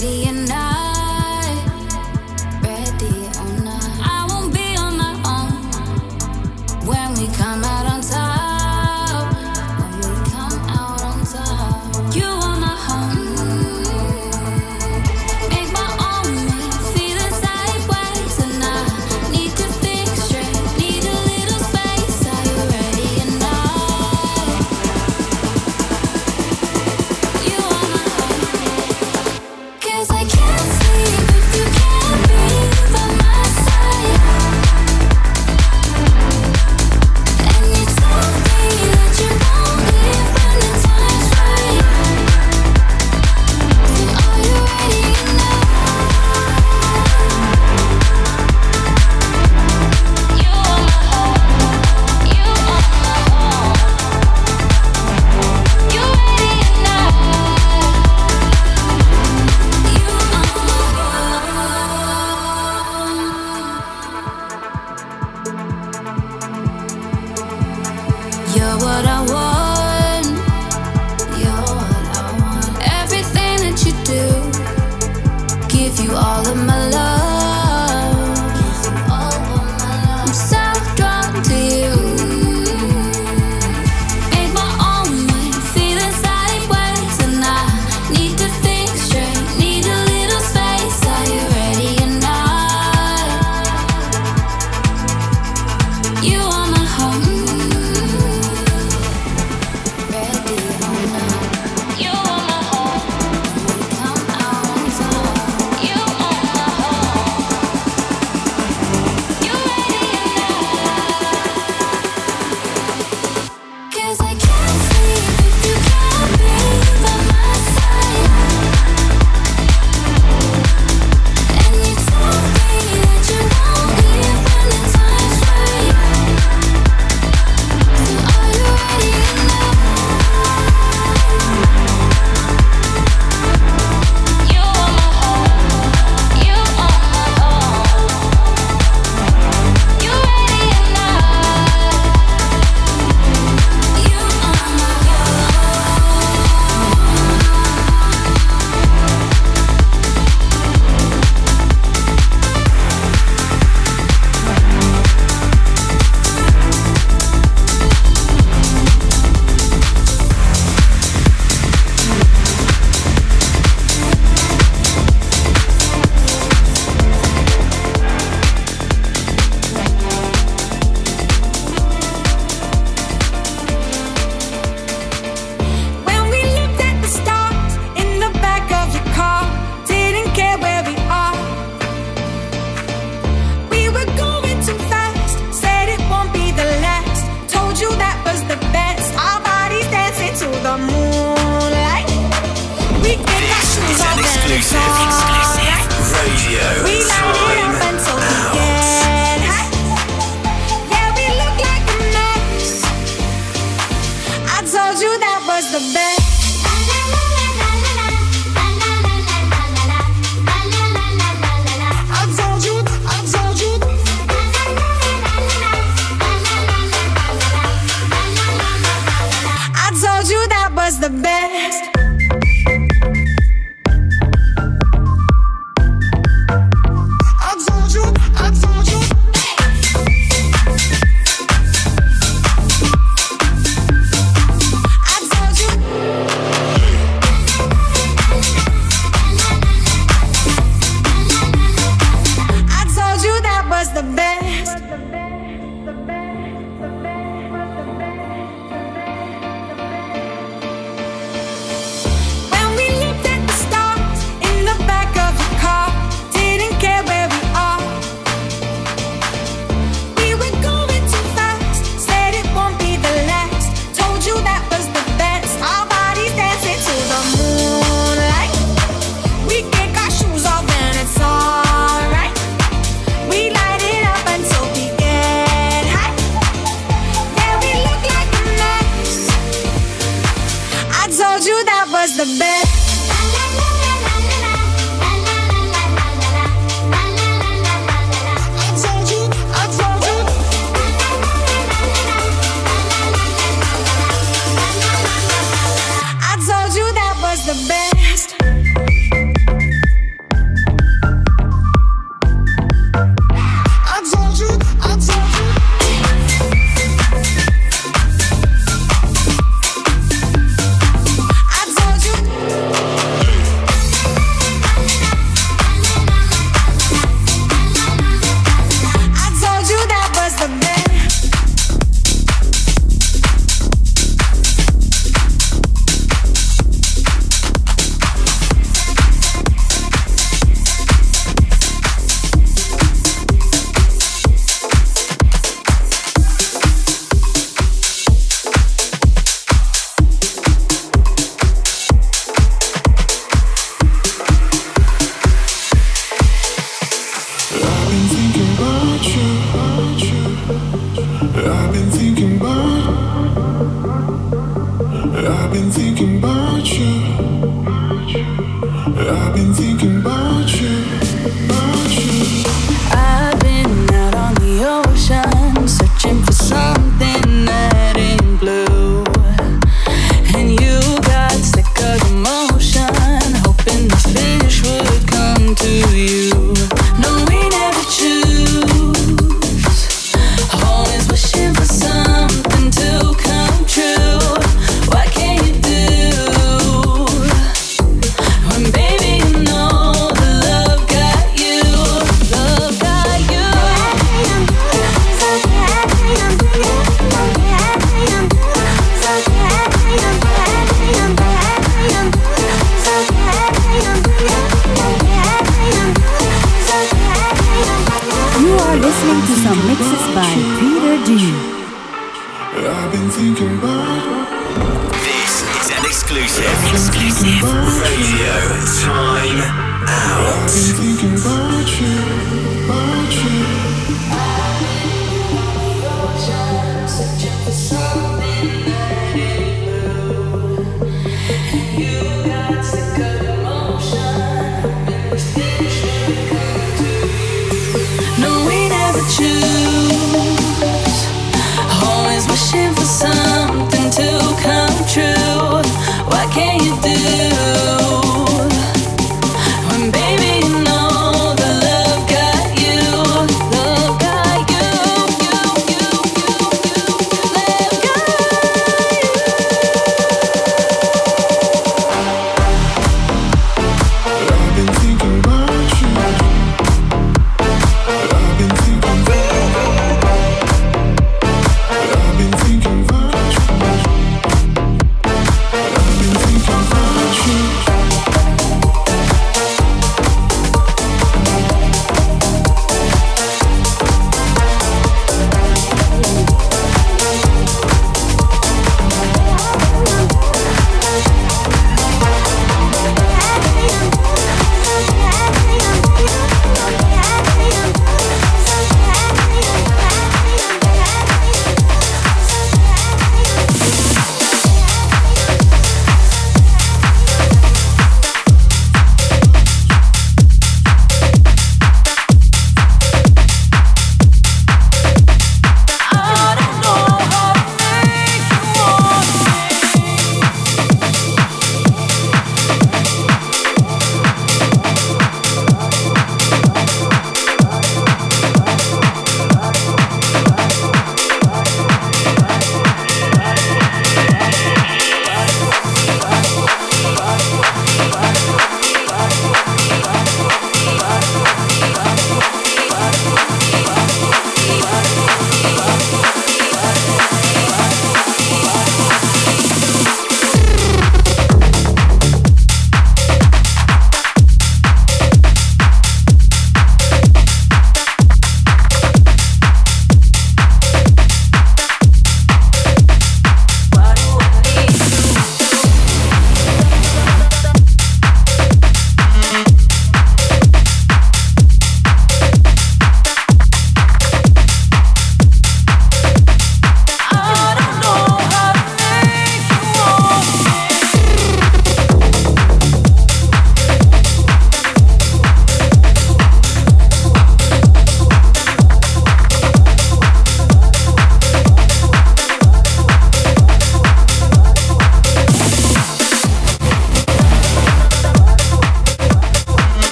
ready or not? Ready or not? I won't be on my own when we come out on top. When we come out on top. You are my home. Make my own me. Feeling sideways and I need to think straight. Need a little space. Are you ready or not? You are my home. 'Cause I can't sleep if you can't be by my side. And you told me that you won't leave when the time's right. So are you ready or not? You are my home. You are my home. You ready or not? You are my home. You're what I want. You're what I want. Everything that you do, give you all of my love. Give you all of my love. I'm so drawn to you. Make my own mind, feeling sideways, and I need to think straight. Need a little space. Are you ready or not? You are my home. Ready or not? You are my home. When we come out on top. You are my home. You ready or not? 'Cause I can't sleep if you can't be by my side. And you told me that you won't leave when the time's right. So are you ready or not? You are my home. You are my home. You ready or not? You are my When we looked at the stars in the back of your car, didn't care where we are. We were going too fast, said it won't be the last. Told you that was the best. Our bodies dancing to the moonlight. We kick our shoes off and it's alright. Radio We light it Time up until we Out. get high. Yeah, we look like a mess. I told you that was the best. I told you, I told you. I told you that was the best. I told you. I've been thinking about you, about you. I've been out on the ocean, searching for something that ain't blue. And you got sick of the motion, hoping the fish would come to you. No, we never choose, always wishing for something to come true. What can you do when, baby, you know the love got you, love got you. You are listening to some mixes by Peter D. I've been thinking about. This is an exclusive radio time out. I've been thinking about you, about you. No, we never choose, always wishing for something to come true. What can you do when, baby,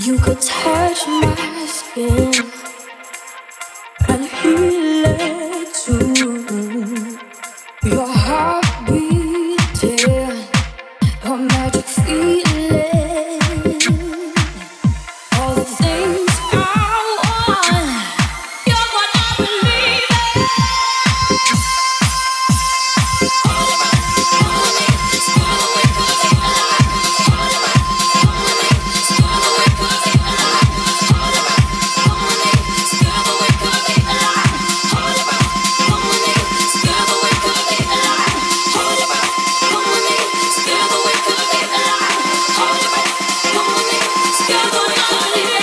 You could touch my skin and heal it too. Your heart beating, a magic feeling. All the things I want, you're what I believe in. All around me, screw the way 'cause I'm alive. All around me, screw the way 'cause I'm alive. All around me, screw the way 'cause I'm alive. All around me, screw the way 'cause I'm alive. All around me, screw the way 'cause I'm alive. All around me, screw the way 'cause I'm alive. All around me, screw the way 'cause I'm alive.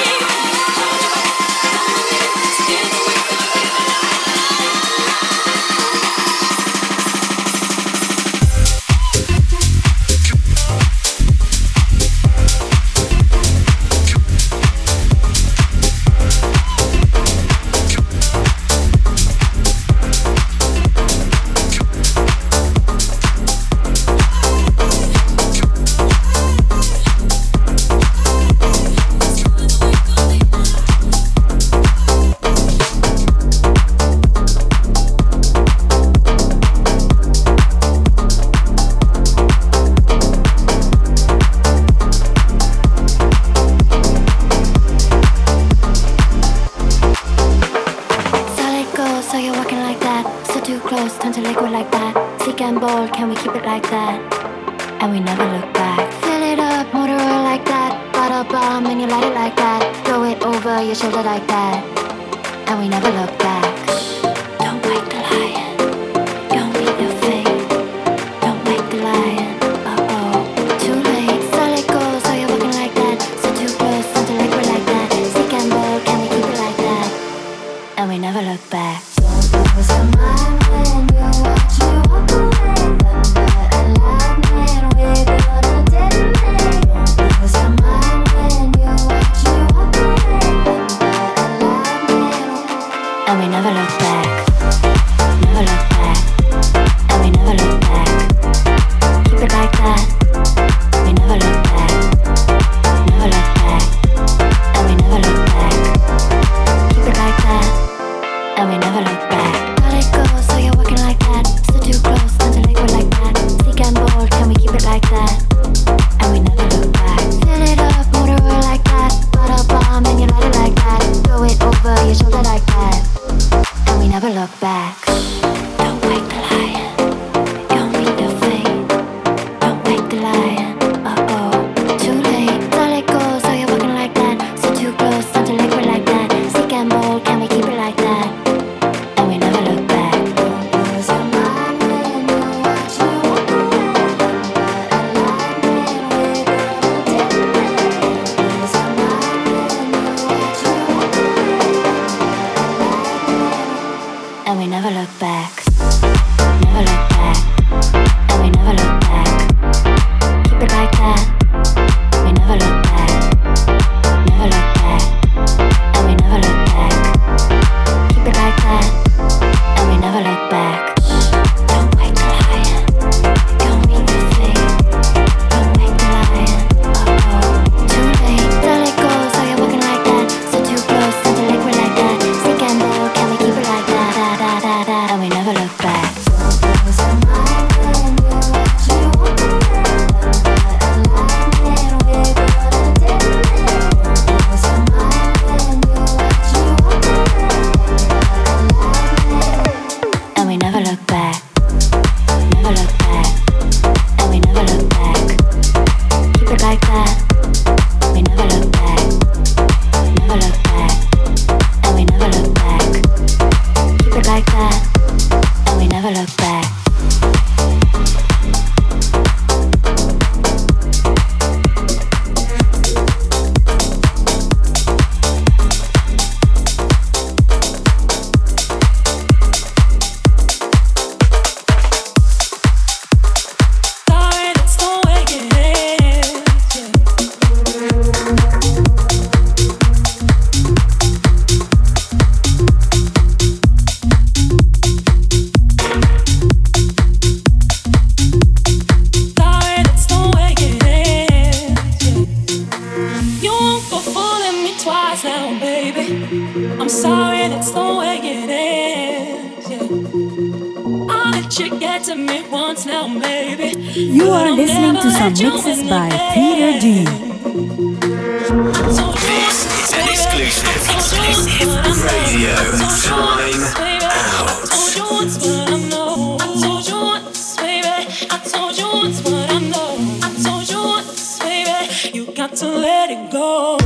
Solid gold, so you're walking like that. So too close, turn to liquid like that. Sick and bold, can we keep it like that? And we never look back. Fill it up, motor oil like that. Bottle bomb, and you light it like that. Throw it over your shoulder like that. And we never look back. Don't wake the lion. Don't meet your fate. Don't wake the lion. Uh-oh, too late. Solid gold, so you're walking like that. So too close, turn to liquid like that. Sick and bold, can we keep it like that? And we never look back. Don't lose your mind when you watch me walk away. Thunder and lightning, we're gonna detonate. Don't lose your mind when you watch me walk away. Thunder and lightning, and we never look back. Never look back. And we never look back. Keep it like that. We never look back. Never look back. And we never look back. Keep it like that. And we never look back. Let it go, so you're walking like that. So too close, turn to liquid like that. Sick and bold, can we keep it like that? And we never look back. Fill it up, motor oil like that. Bottle bomb, and you light it like that. Throw it over your shoulder like that. And we never look back. Don't wake the lion. Don't meet your fate. Don't wake the lion. Uh-oh, too late. Let it go, so you're walking like that. So too close, turn to liquid like that. Sick and bold, can we keep it like that? And we never look back. Don't lose your mind when you watch me walk away. Thunder and lightning, we're gonna detonate. Don't lose your mind when you watch me walk away. Thunder and lightning, and we never look back. Never look back. And we never look back. I'm sorry, that's the way it is. Yeah. I'll let you get to me once now, baby. You are listening to some mixes by Peter D. This is an exclusive radio time out. I told you once what I know. I told you once, baby. I told you once what I know. I told you once, baby. You got to let it go.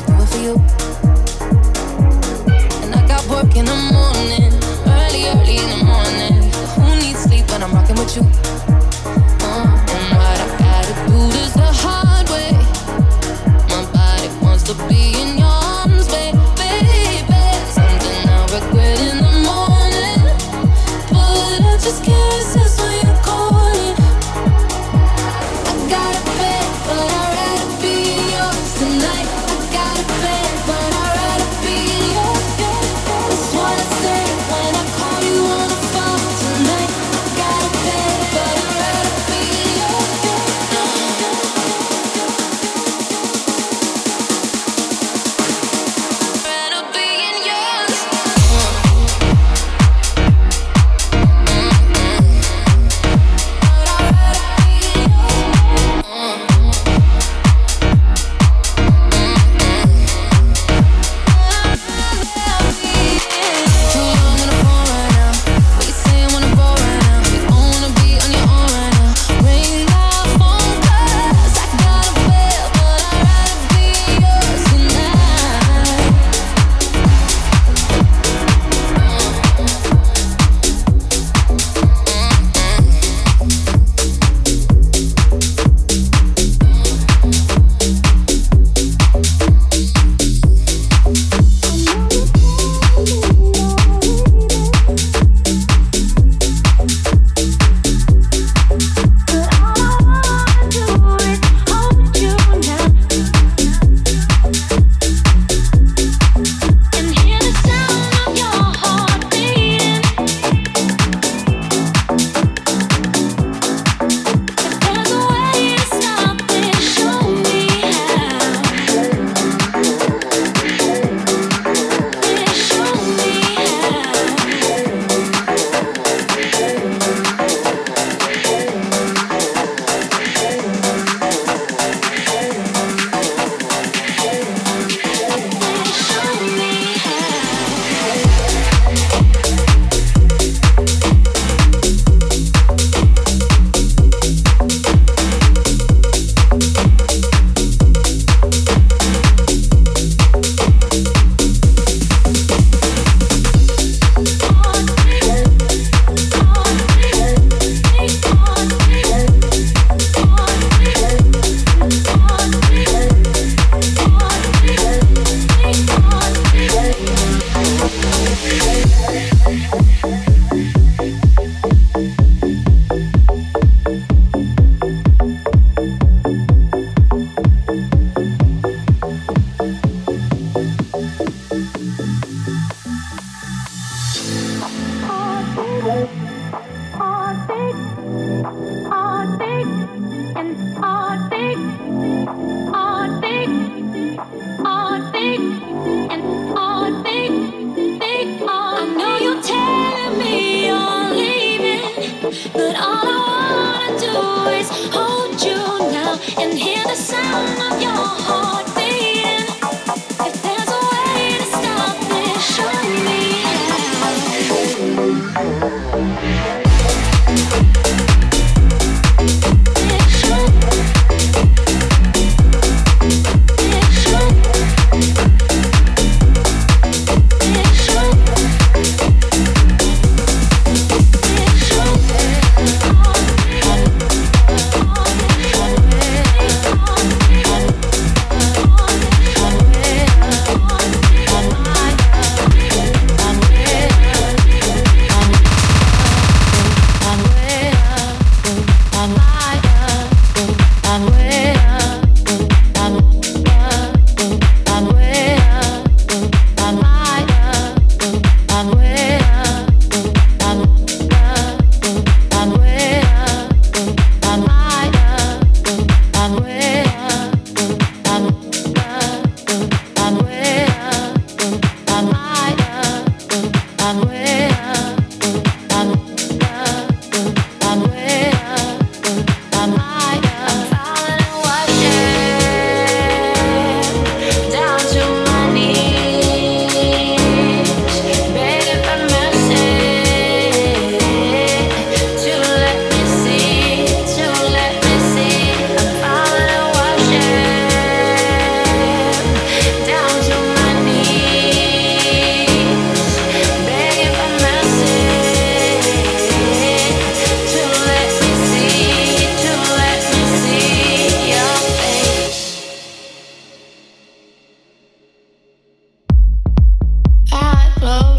work in the morning, early in the with you. And what I gotta do this the hard way. My body wants to be in your arms, baby. Something I'll regret in the morning, but I just can't resist when you're calling. I got a bed, but I'd rather be yours tonight. I got a bed, but I'd rather be yours. That's what I say when I call you on the phone tonight. I got a bed, but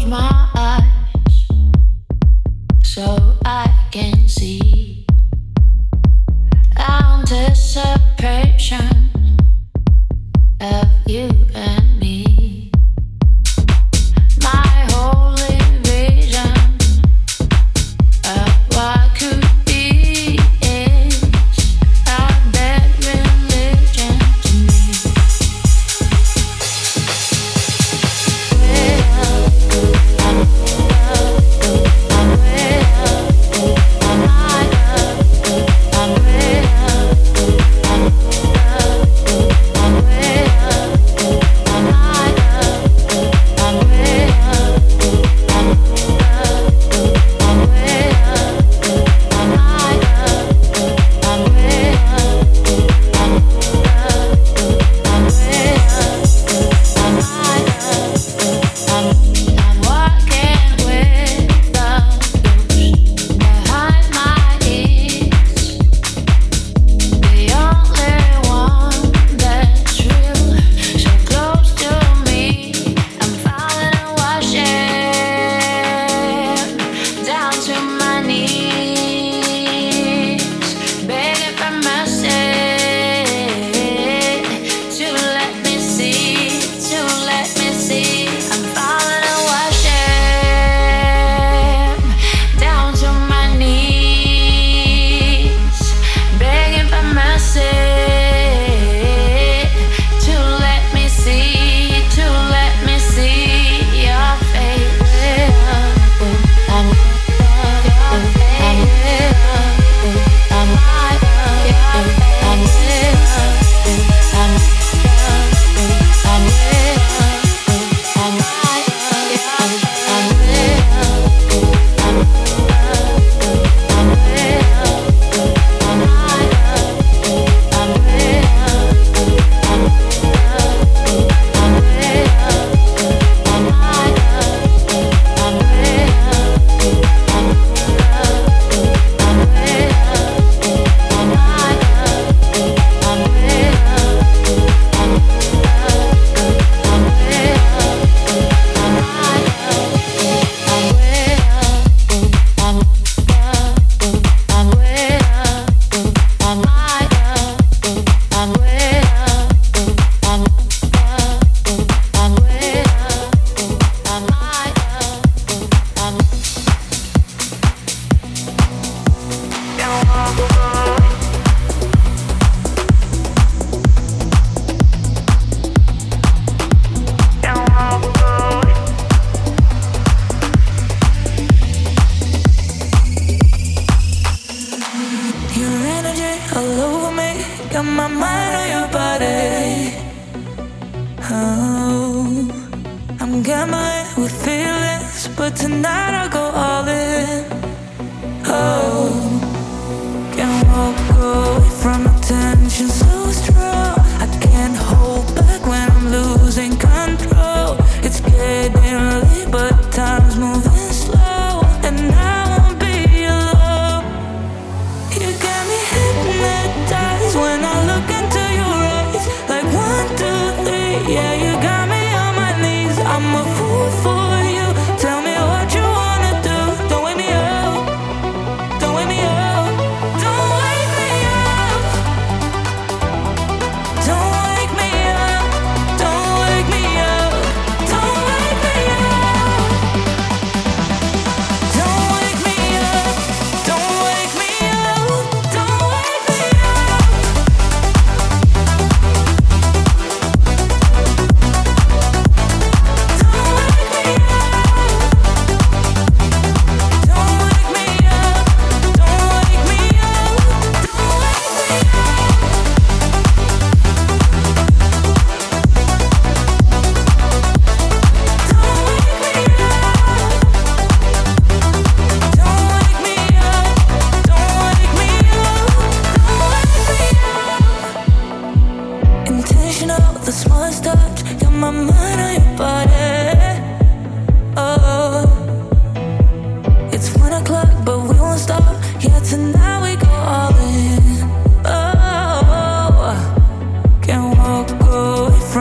From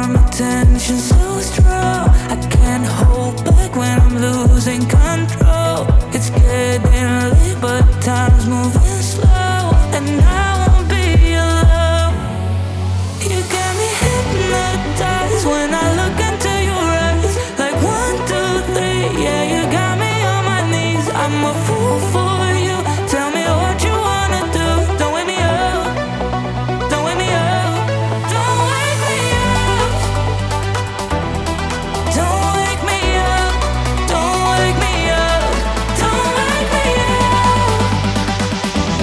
my tension so strong. I can't hold back when I'm losing control. It's getting late, but time's moving slow, and I won't be alone. You got me hypnotized when I look into your eyes. Like 1, 2, 3, yeah, you got me on my knees. I'm a fool for you. Tell me what you wanna do. Don't wake me up. Don't wake me up. Don't wake me up. Don't wake me up. Don't wake me up. Don't wake me up.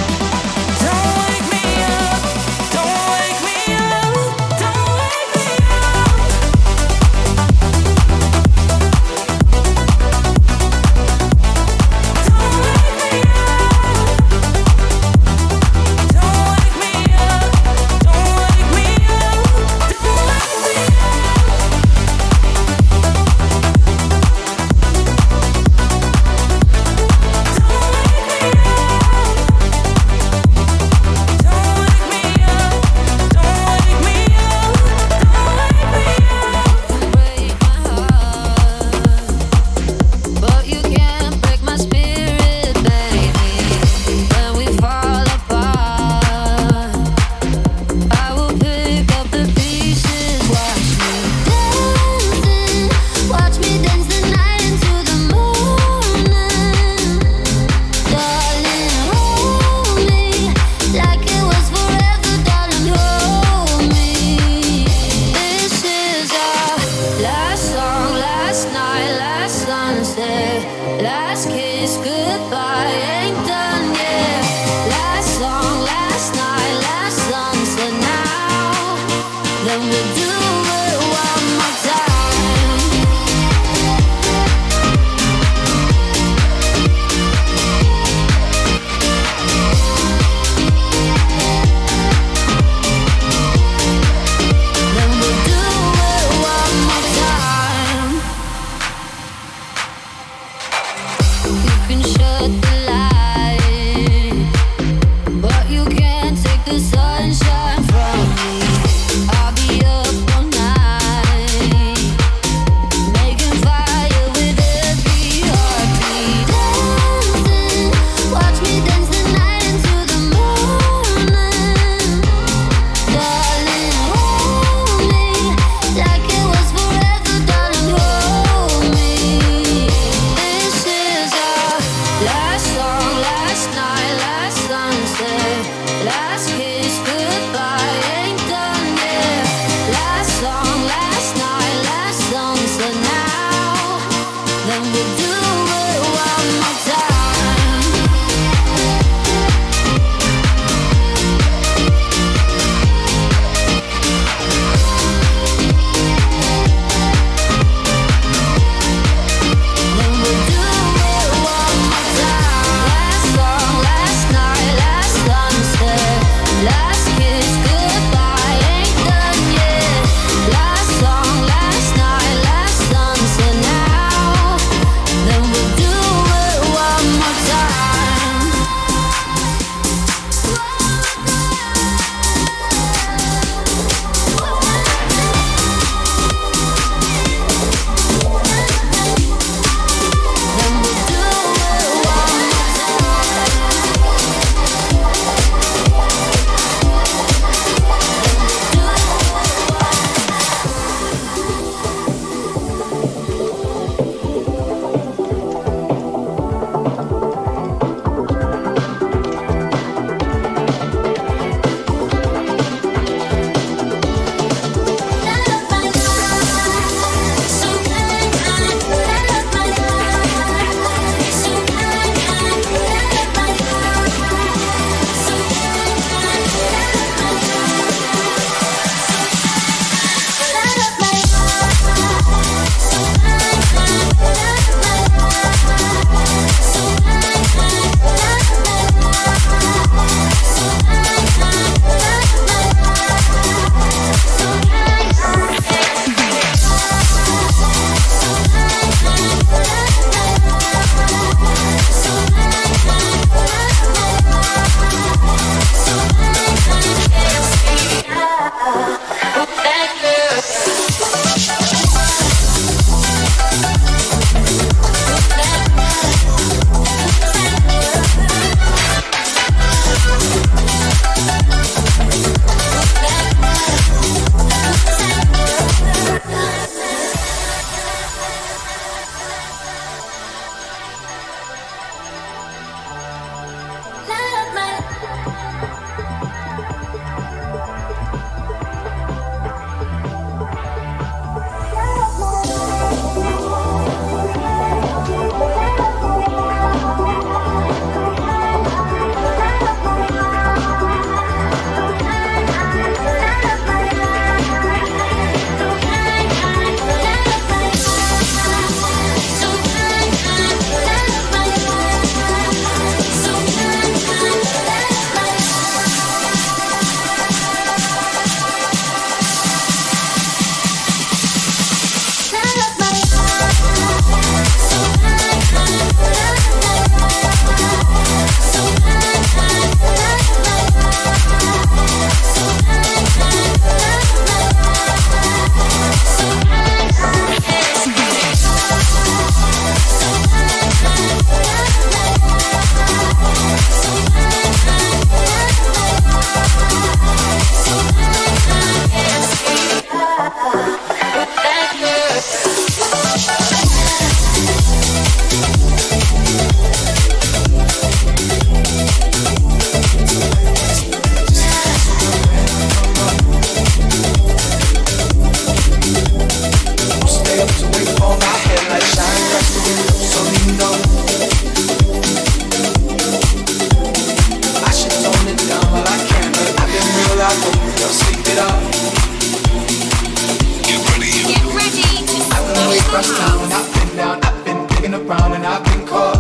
across town and I've been down, I've been digging around and I've been caught.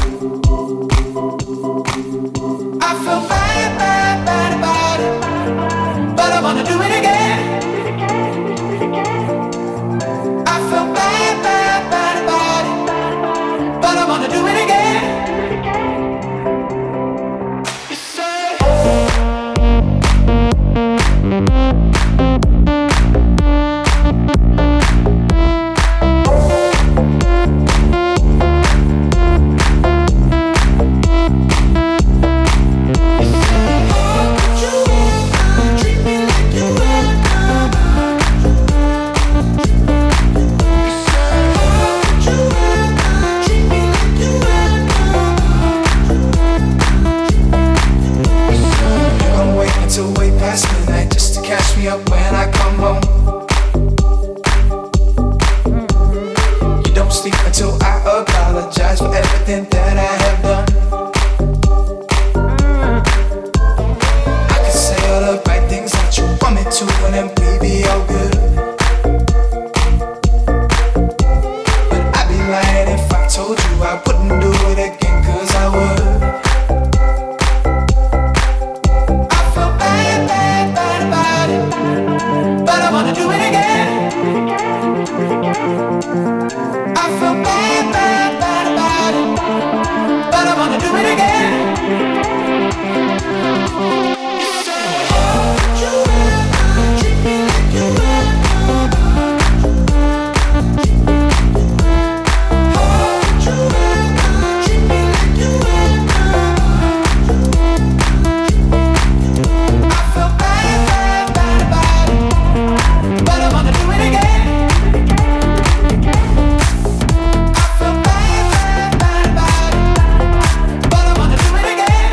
I feel bad, bad, bad about it, but I wanna do it again. I feel bad, bad, bad about it, but I wanna do it again. You say catch me up when I come home. You don't sleep until I apologize for everything that I have done. I can say all the right things that you want me to, and then we be all good. But I'd be lying if I told you I wouldn't do it again, 'cause I would. But I wanna do it again. I feel bad, bad, bad about it, but I wanna do it again. How could you ever treat me like you ever? How could you ever treat me like you ever? I feel bad, bad, bad about it, but I wanna do it again. I feel bad, bad, bad about it, but I wanna do it again.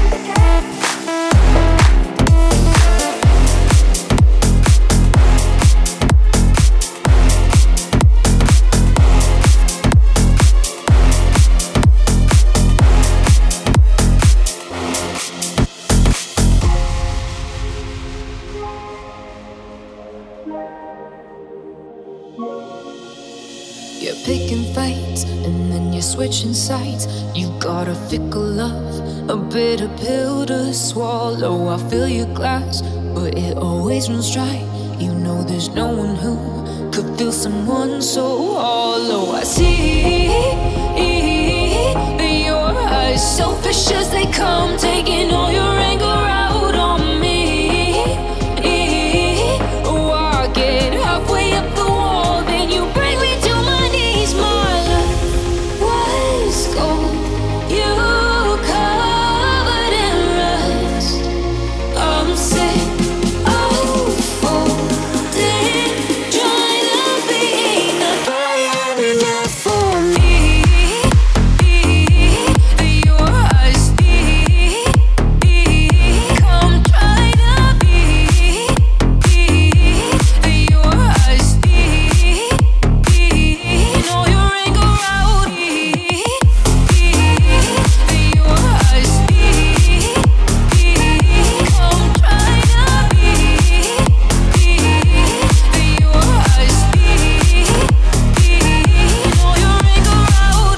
You're picking fights and then you're switching sides. You got a fickle love, a bitter pill to swallow. I fill your glass, but it always runs dry. You know there's no one who could feel someone so hollow. I see your eyes, selfish as they come, taking all your anger out on me. Oh, I get halfway up the wall, then you bring me to my knees. My love was gold, you covered in rust. I'm sick of folding, trying to be enough for me. Your eyes come try to be. Your eyes all your anger out. Your eyes come try to be. Your eyes all your anger out.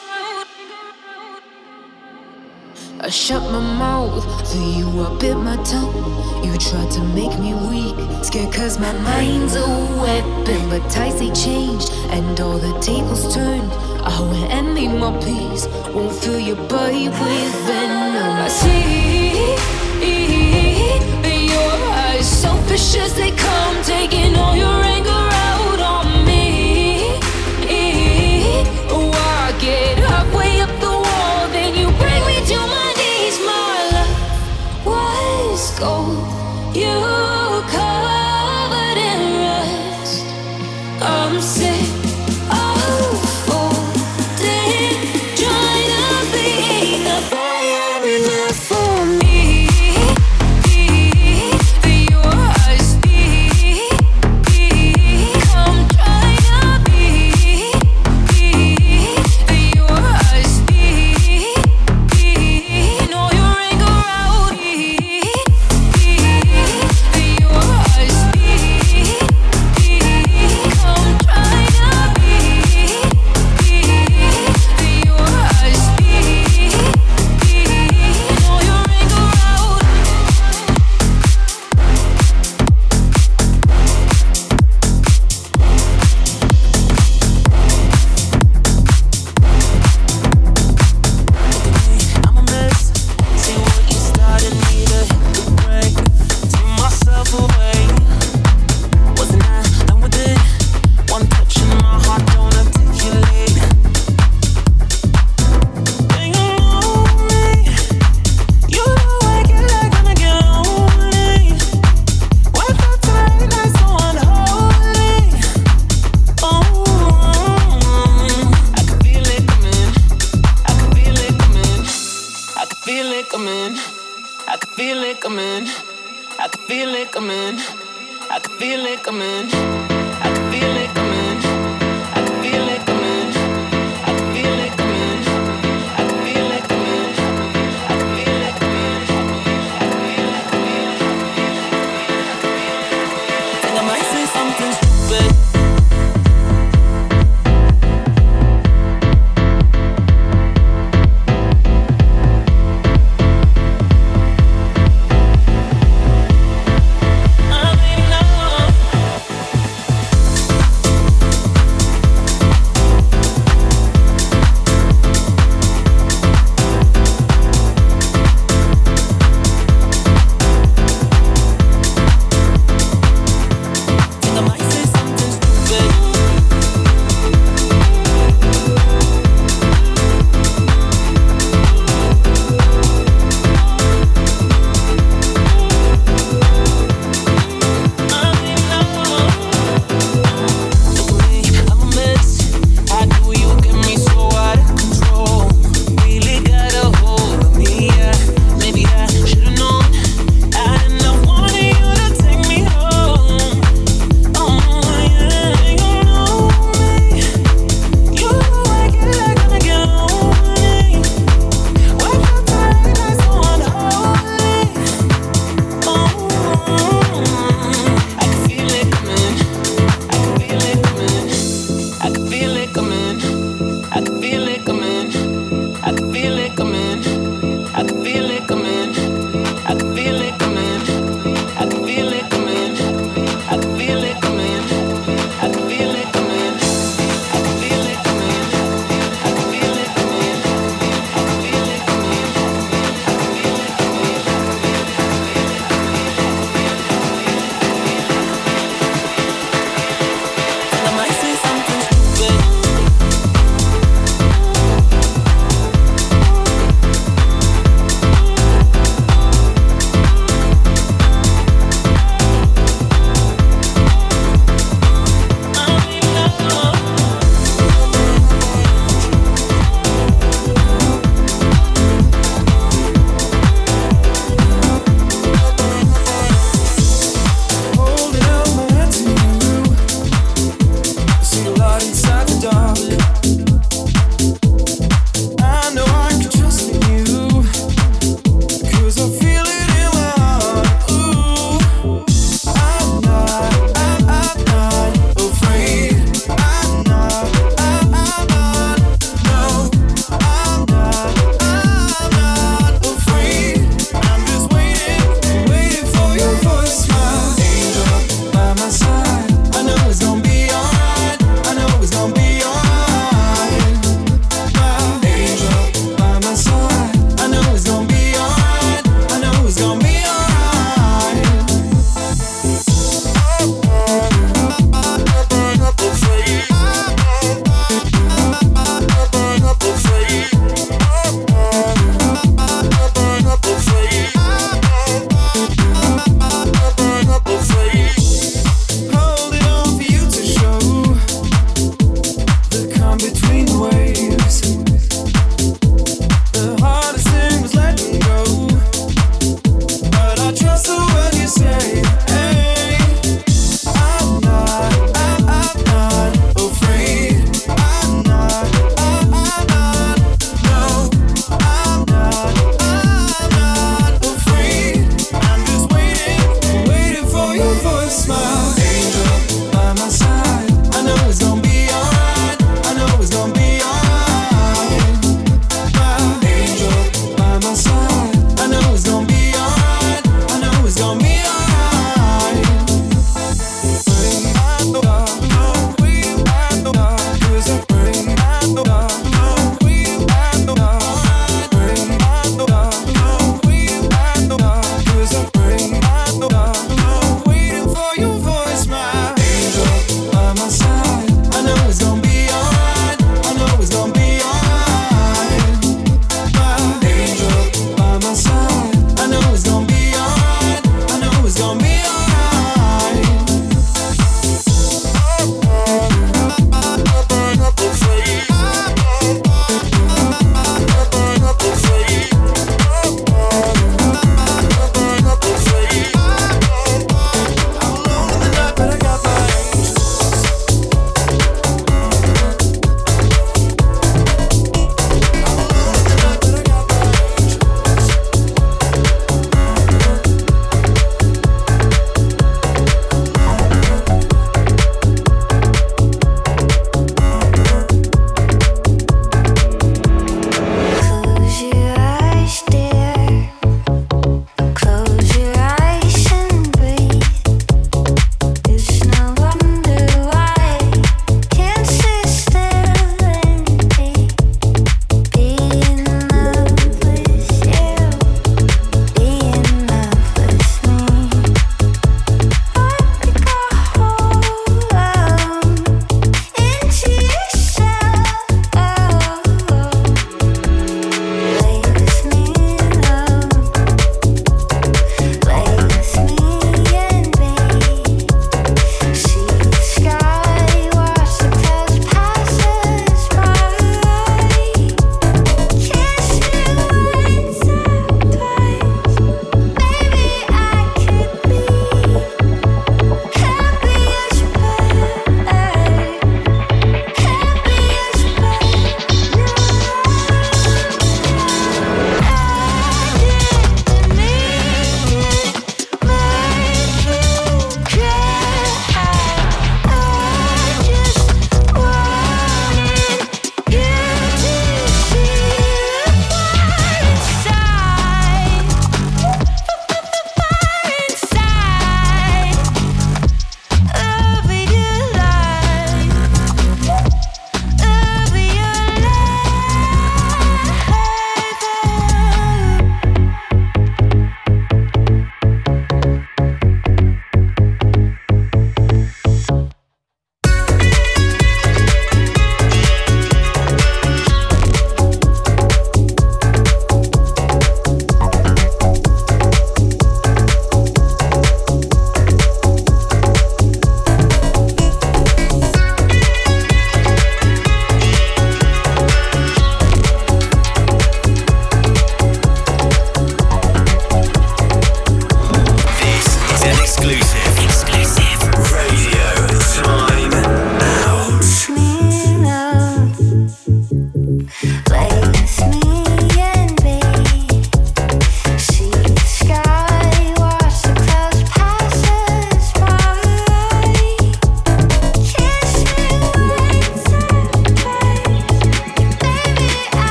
I shut my mouth, for you I bit my tongue. You tried to make me weak, scared 'cause my mind's a weapon. But tides they changed, and all the tables turned. I went and made my peace, won't fill your body with venom. I see your eyes, selfish as they come, taking all your anger out on me. Oh, I get halfway up the wall, then you bring me to my knees. My love was gold, you covered in rust. I'm sick of folding, trying to be enough for me. Your eyes feel it coming. I can feel it coming. I can feel it coming. I can feel it coming. I can feel it coming. I can feel it coming. I can feel it coming. I can feel it coming. I can feel it coming. Think I might say something stupid.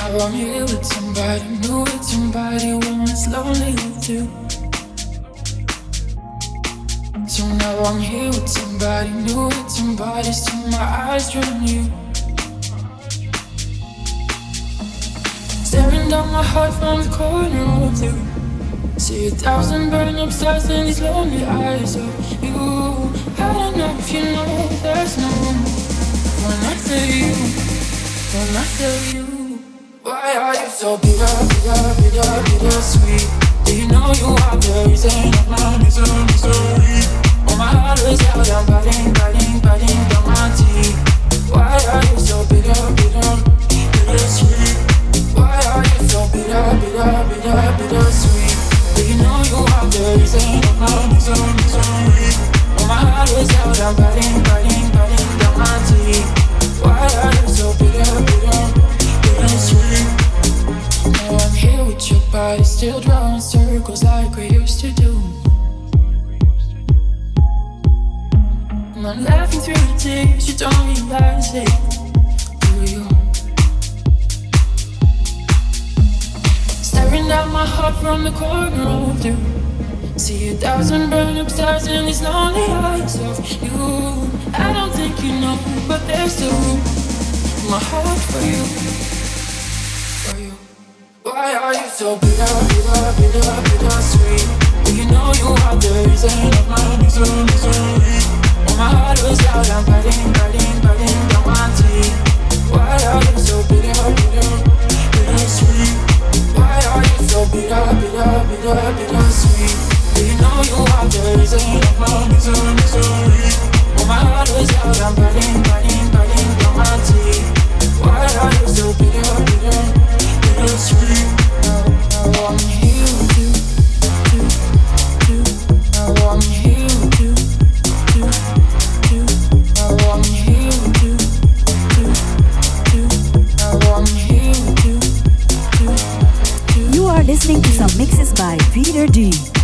now I'm here with somebody new, with somebody when it's lonely with you. So now I'm here with somebody new, with somebody, still my eyes on you. Staring down my heart from the corner of you. See 1,000 burn up stars in these lonely eyes of you. I don't know if you know there's no room when I tell you, when I tell you. Why are you so bitter, bitter, bitter, bitter sweet? Do you know you are the reason of my misery? Oh, my heart is out, I'm biting, biting, biting down my teeth. Why are you so bitter, bitter, bitter sweet? Why are you so bitter, bitter, bitter, bitter sweet? Do you know you are the reason of my misery? Oh, my heart is out, I'm biting, biting, biting down my teeth. Why are you so bitter, bitter, bitter sweet? Now I'm here with your body, still drawing circles like we used to do. And I'm laughing through the tears, you don't realize it, do you? Staring down my heart from the corner of you. See 1,000 burn up stars in these lonely eyes of you. I don't think you know, but there's still room in my heart for you, for you. Why are you so bitter, bitter, bitter, bitter sweet? Do you know you are the reason of my misery? Oh, my heart was out, I'm biting, biting, biting down my teeth. Why are you so bitter, bitter, bitter sweet? Why are you so bitter, bitter, bitter, bitter sweet? Do you know you are the reason of my misery? Oh, my heart was out, I'm biting, biting, biting down my teeth. Why are you so bitter, bitter, bitter sweet? Now I'm here with you, now I'm here with you, now I'm here with you, now I'm here with you. You are listening to some mixes by Peter D.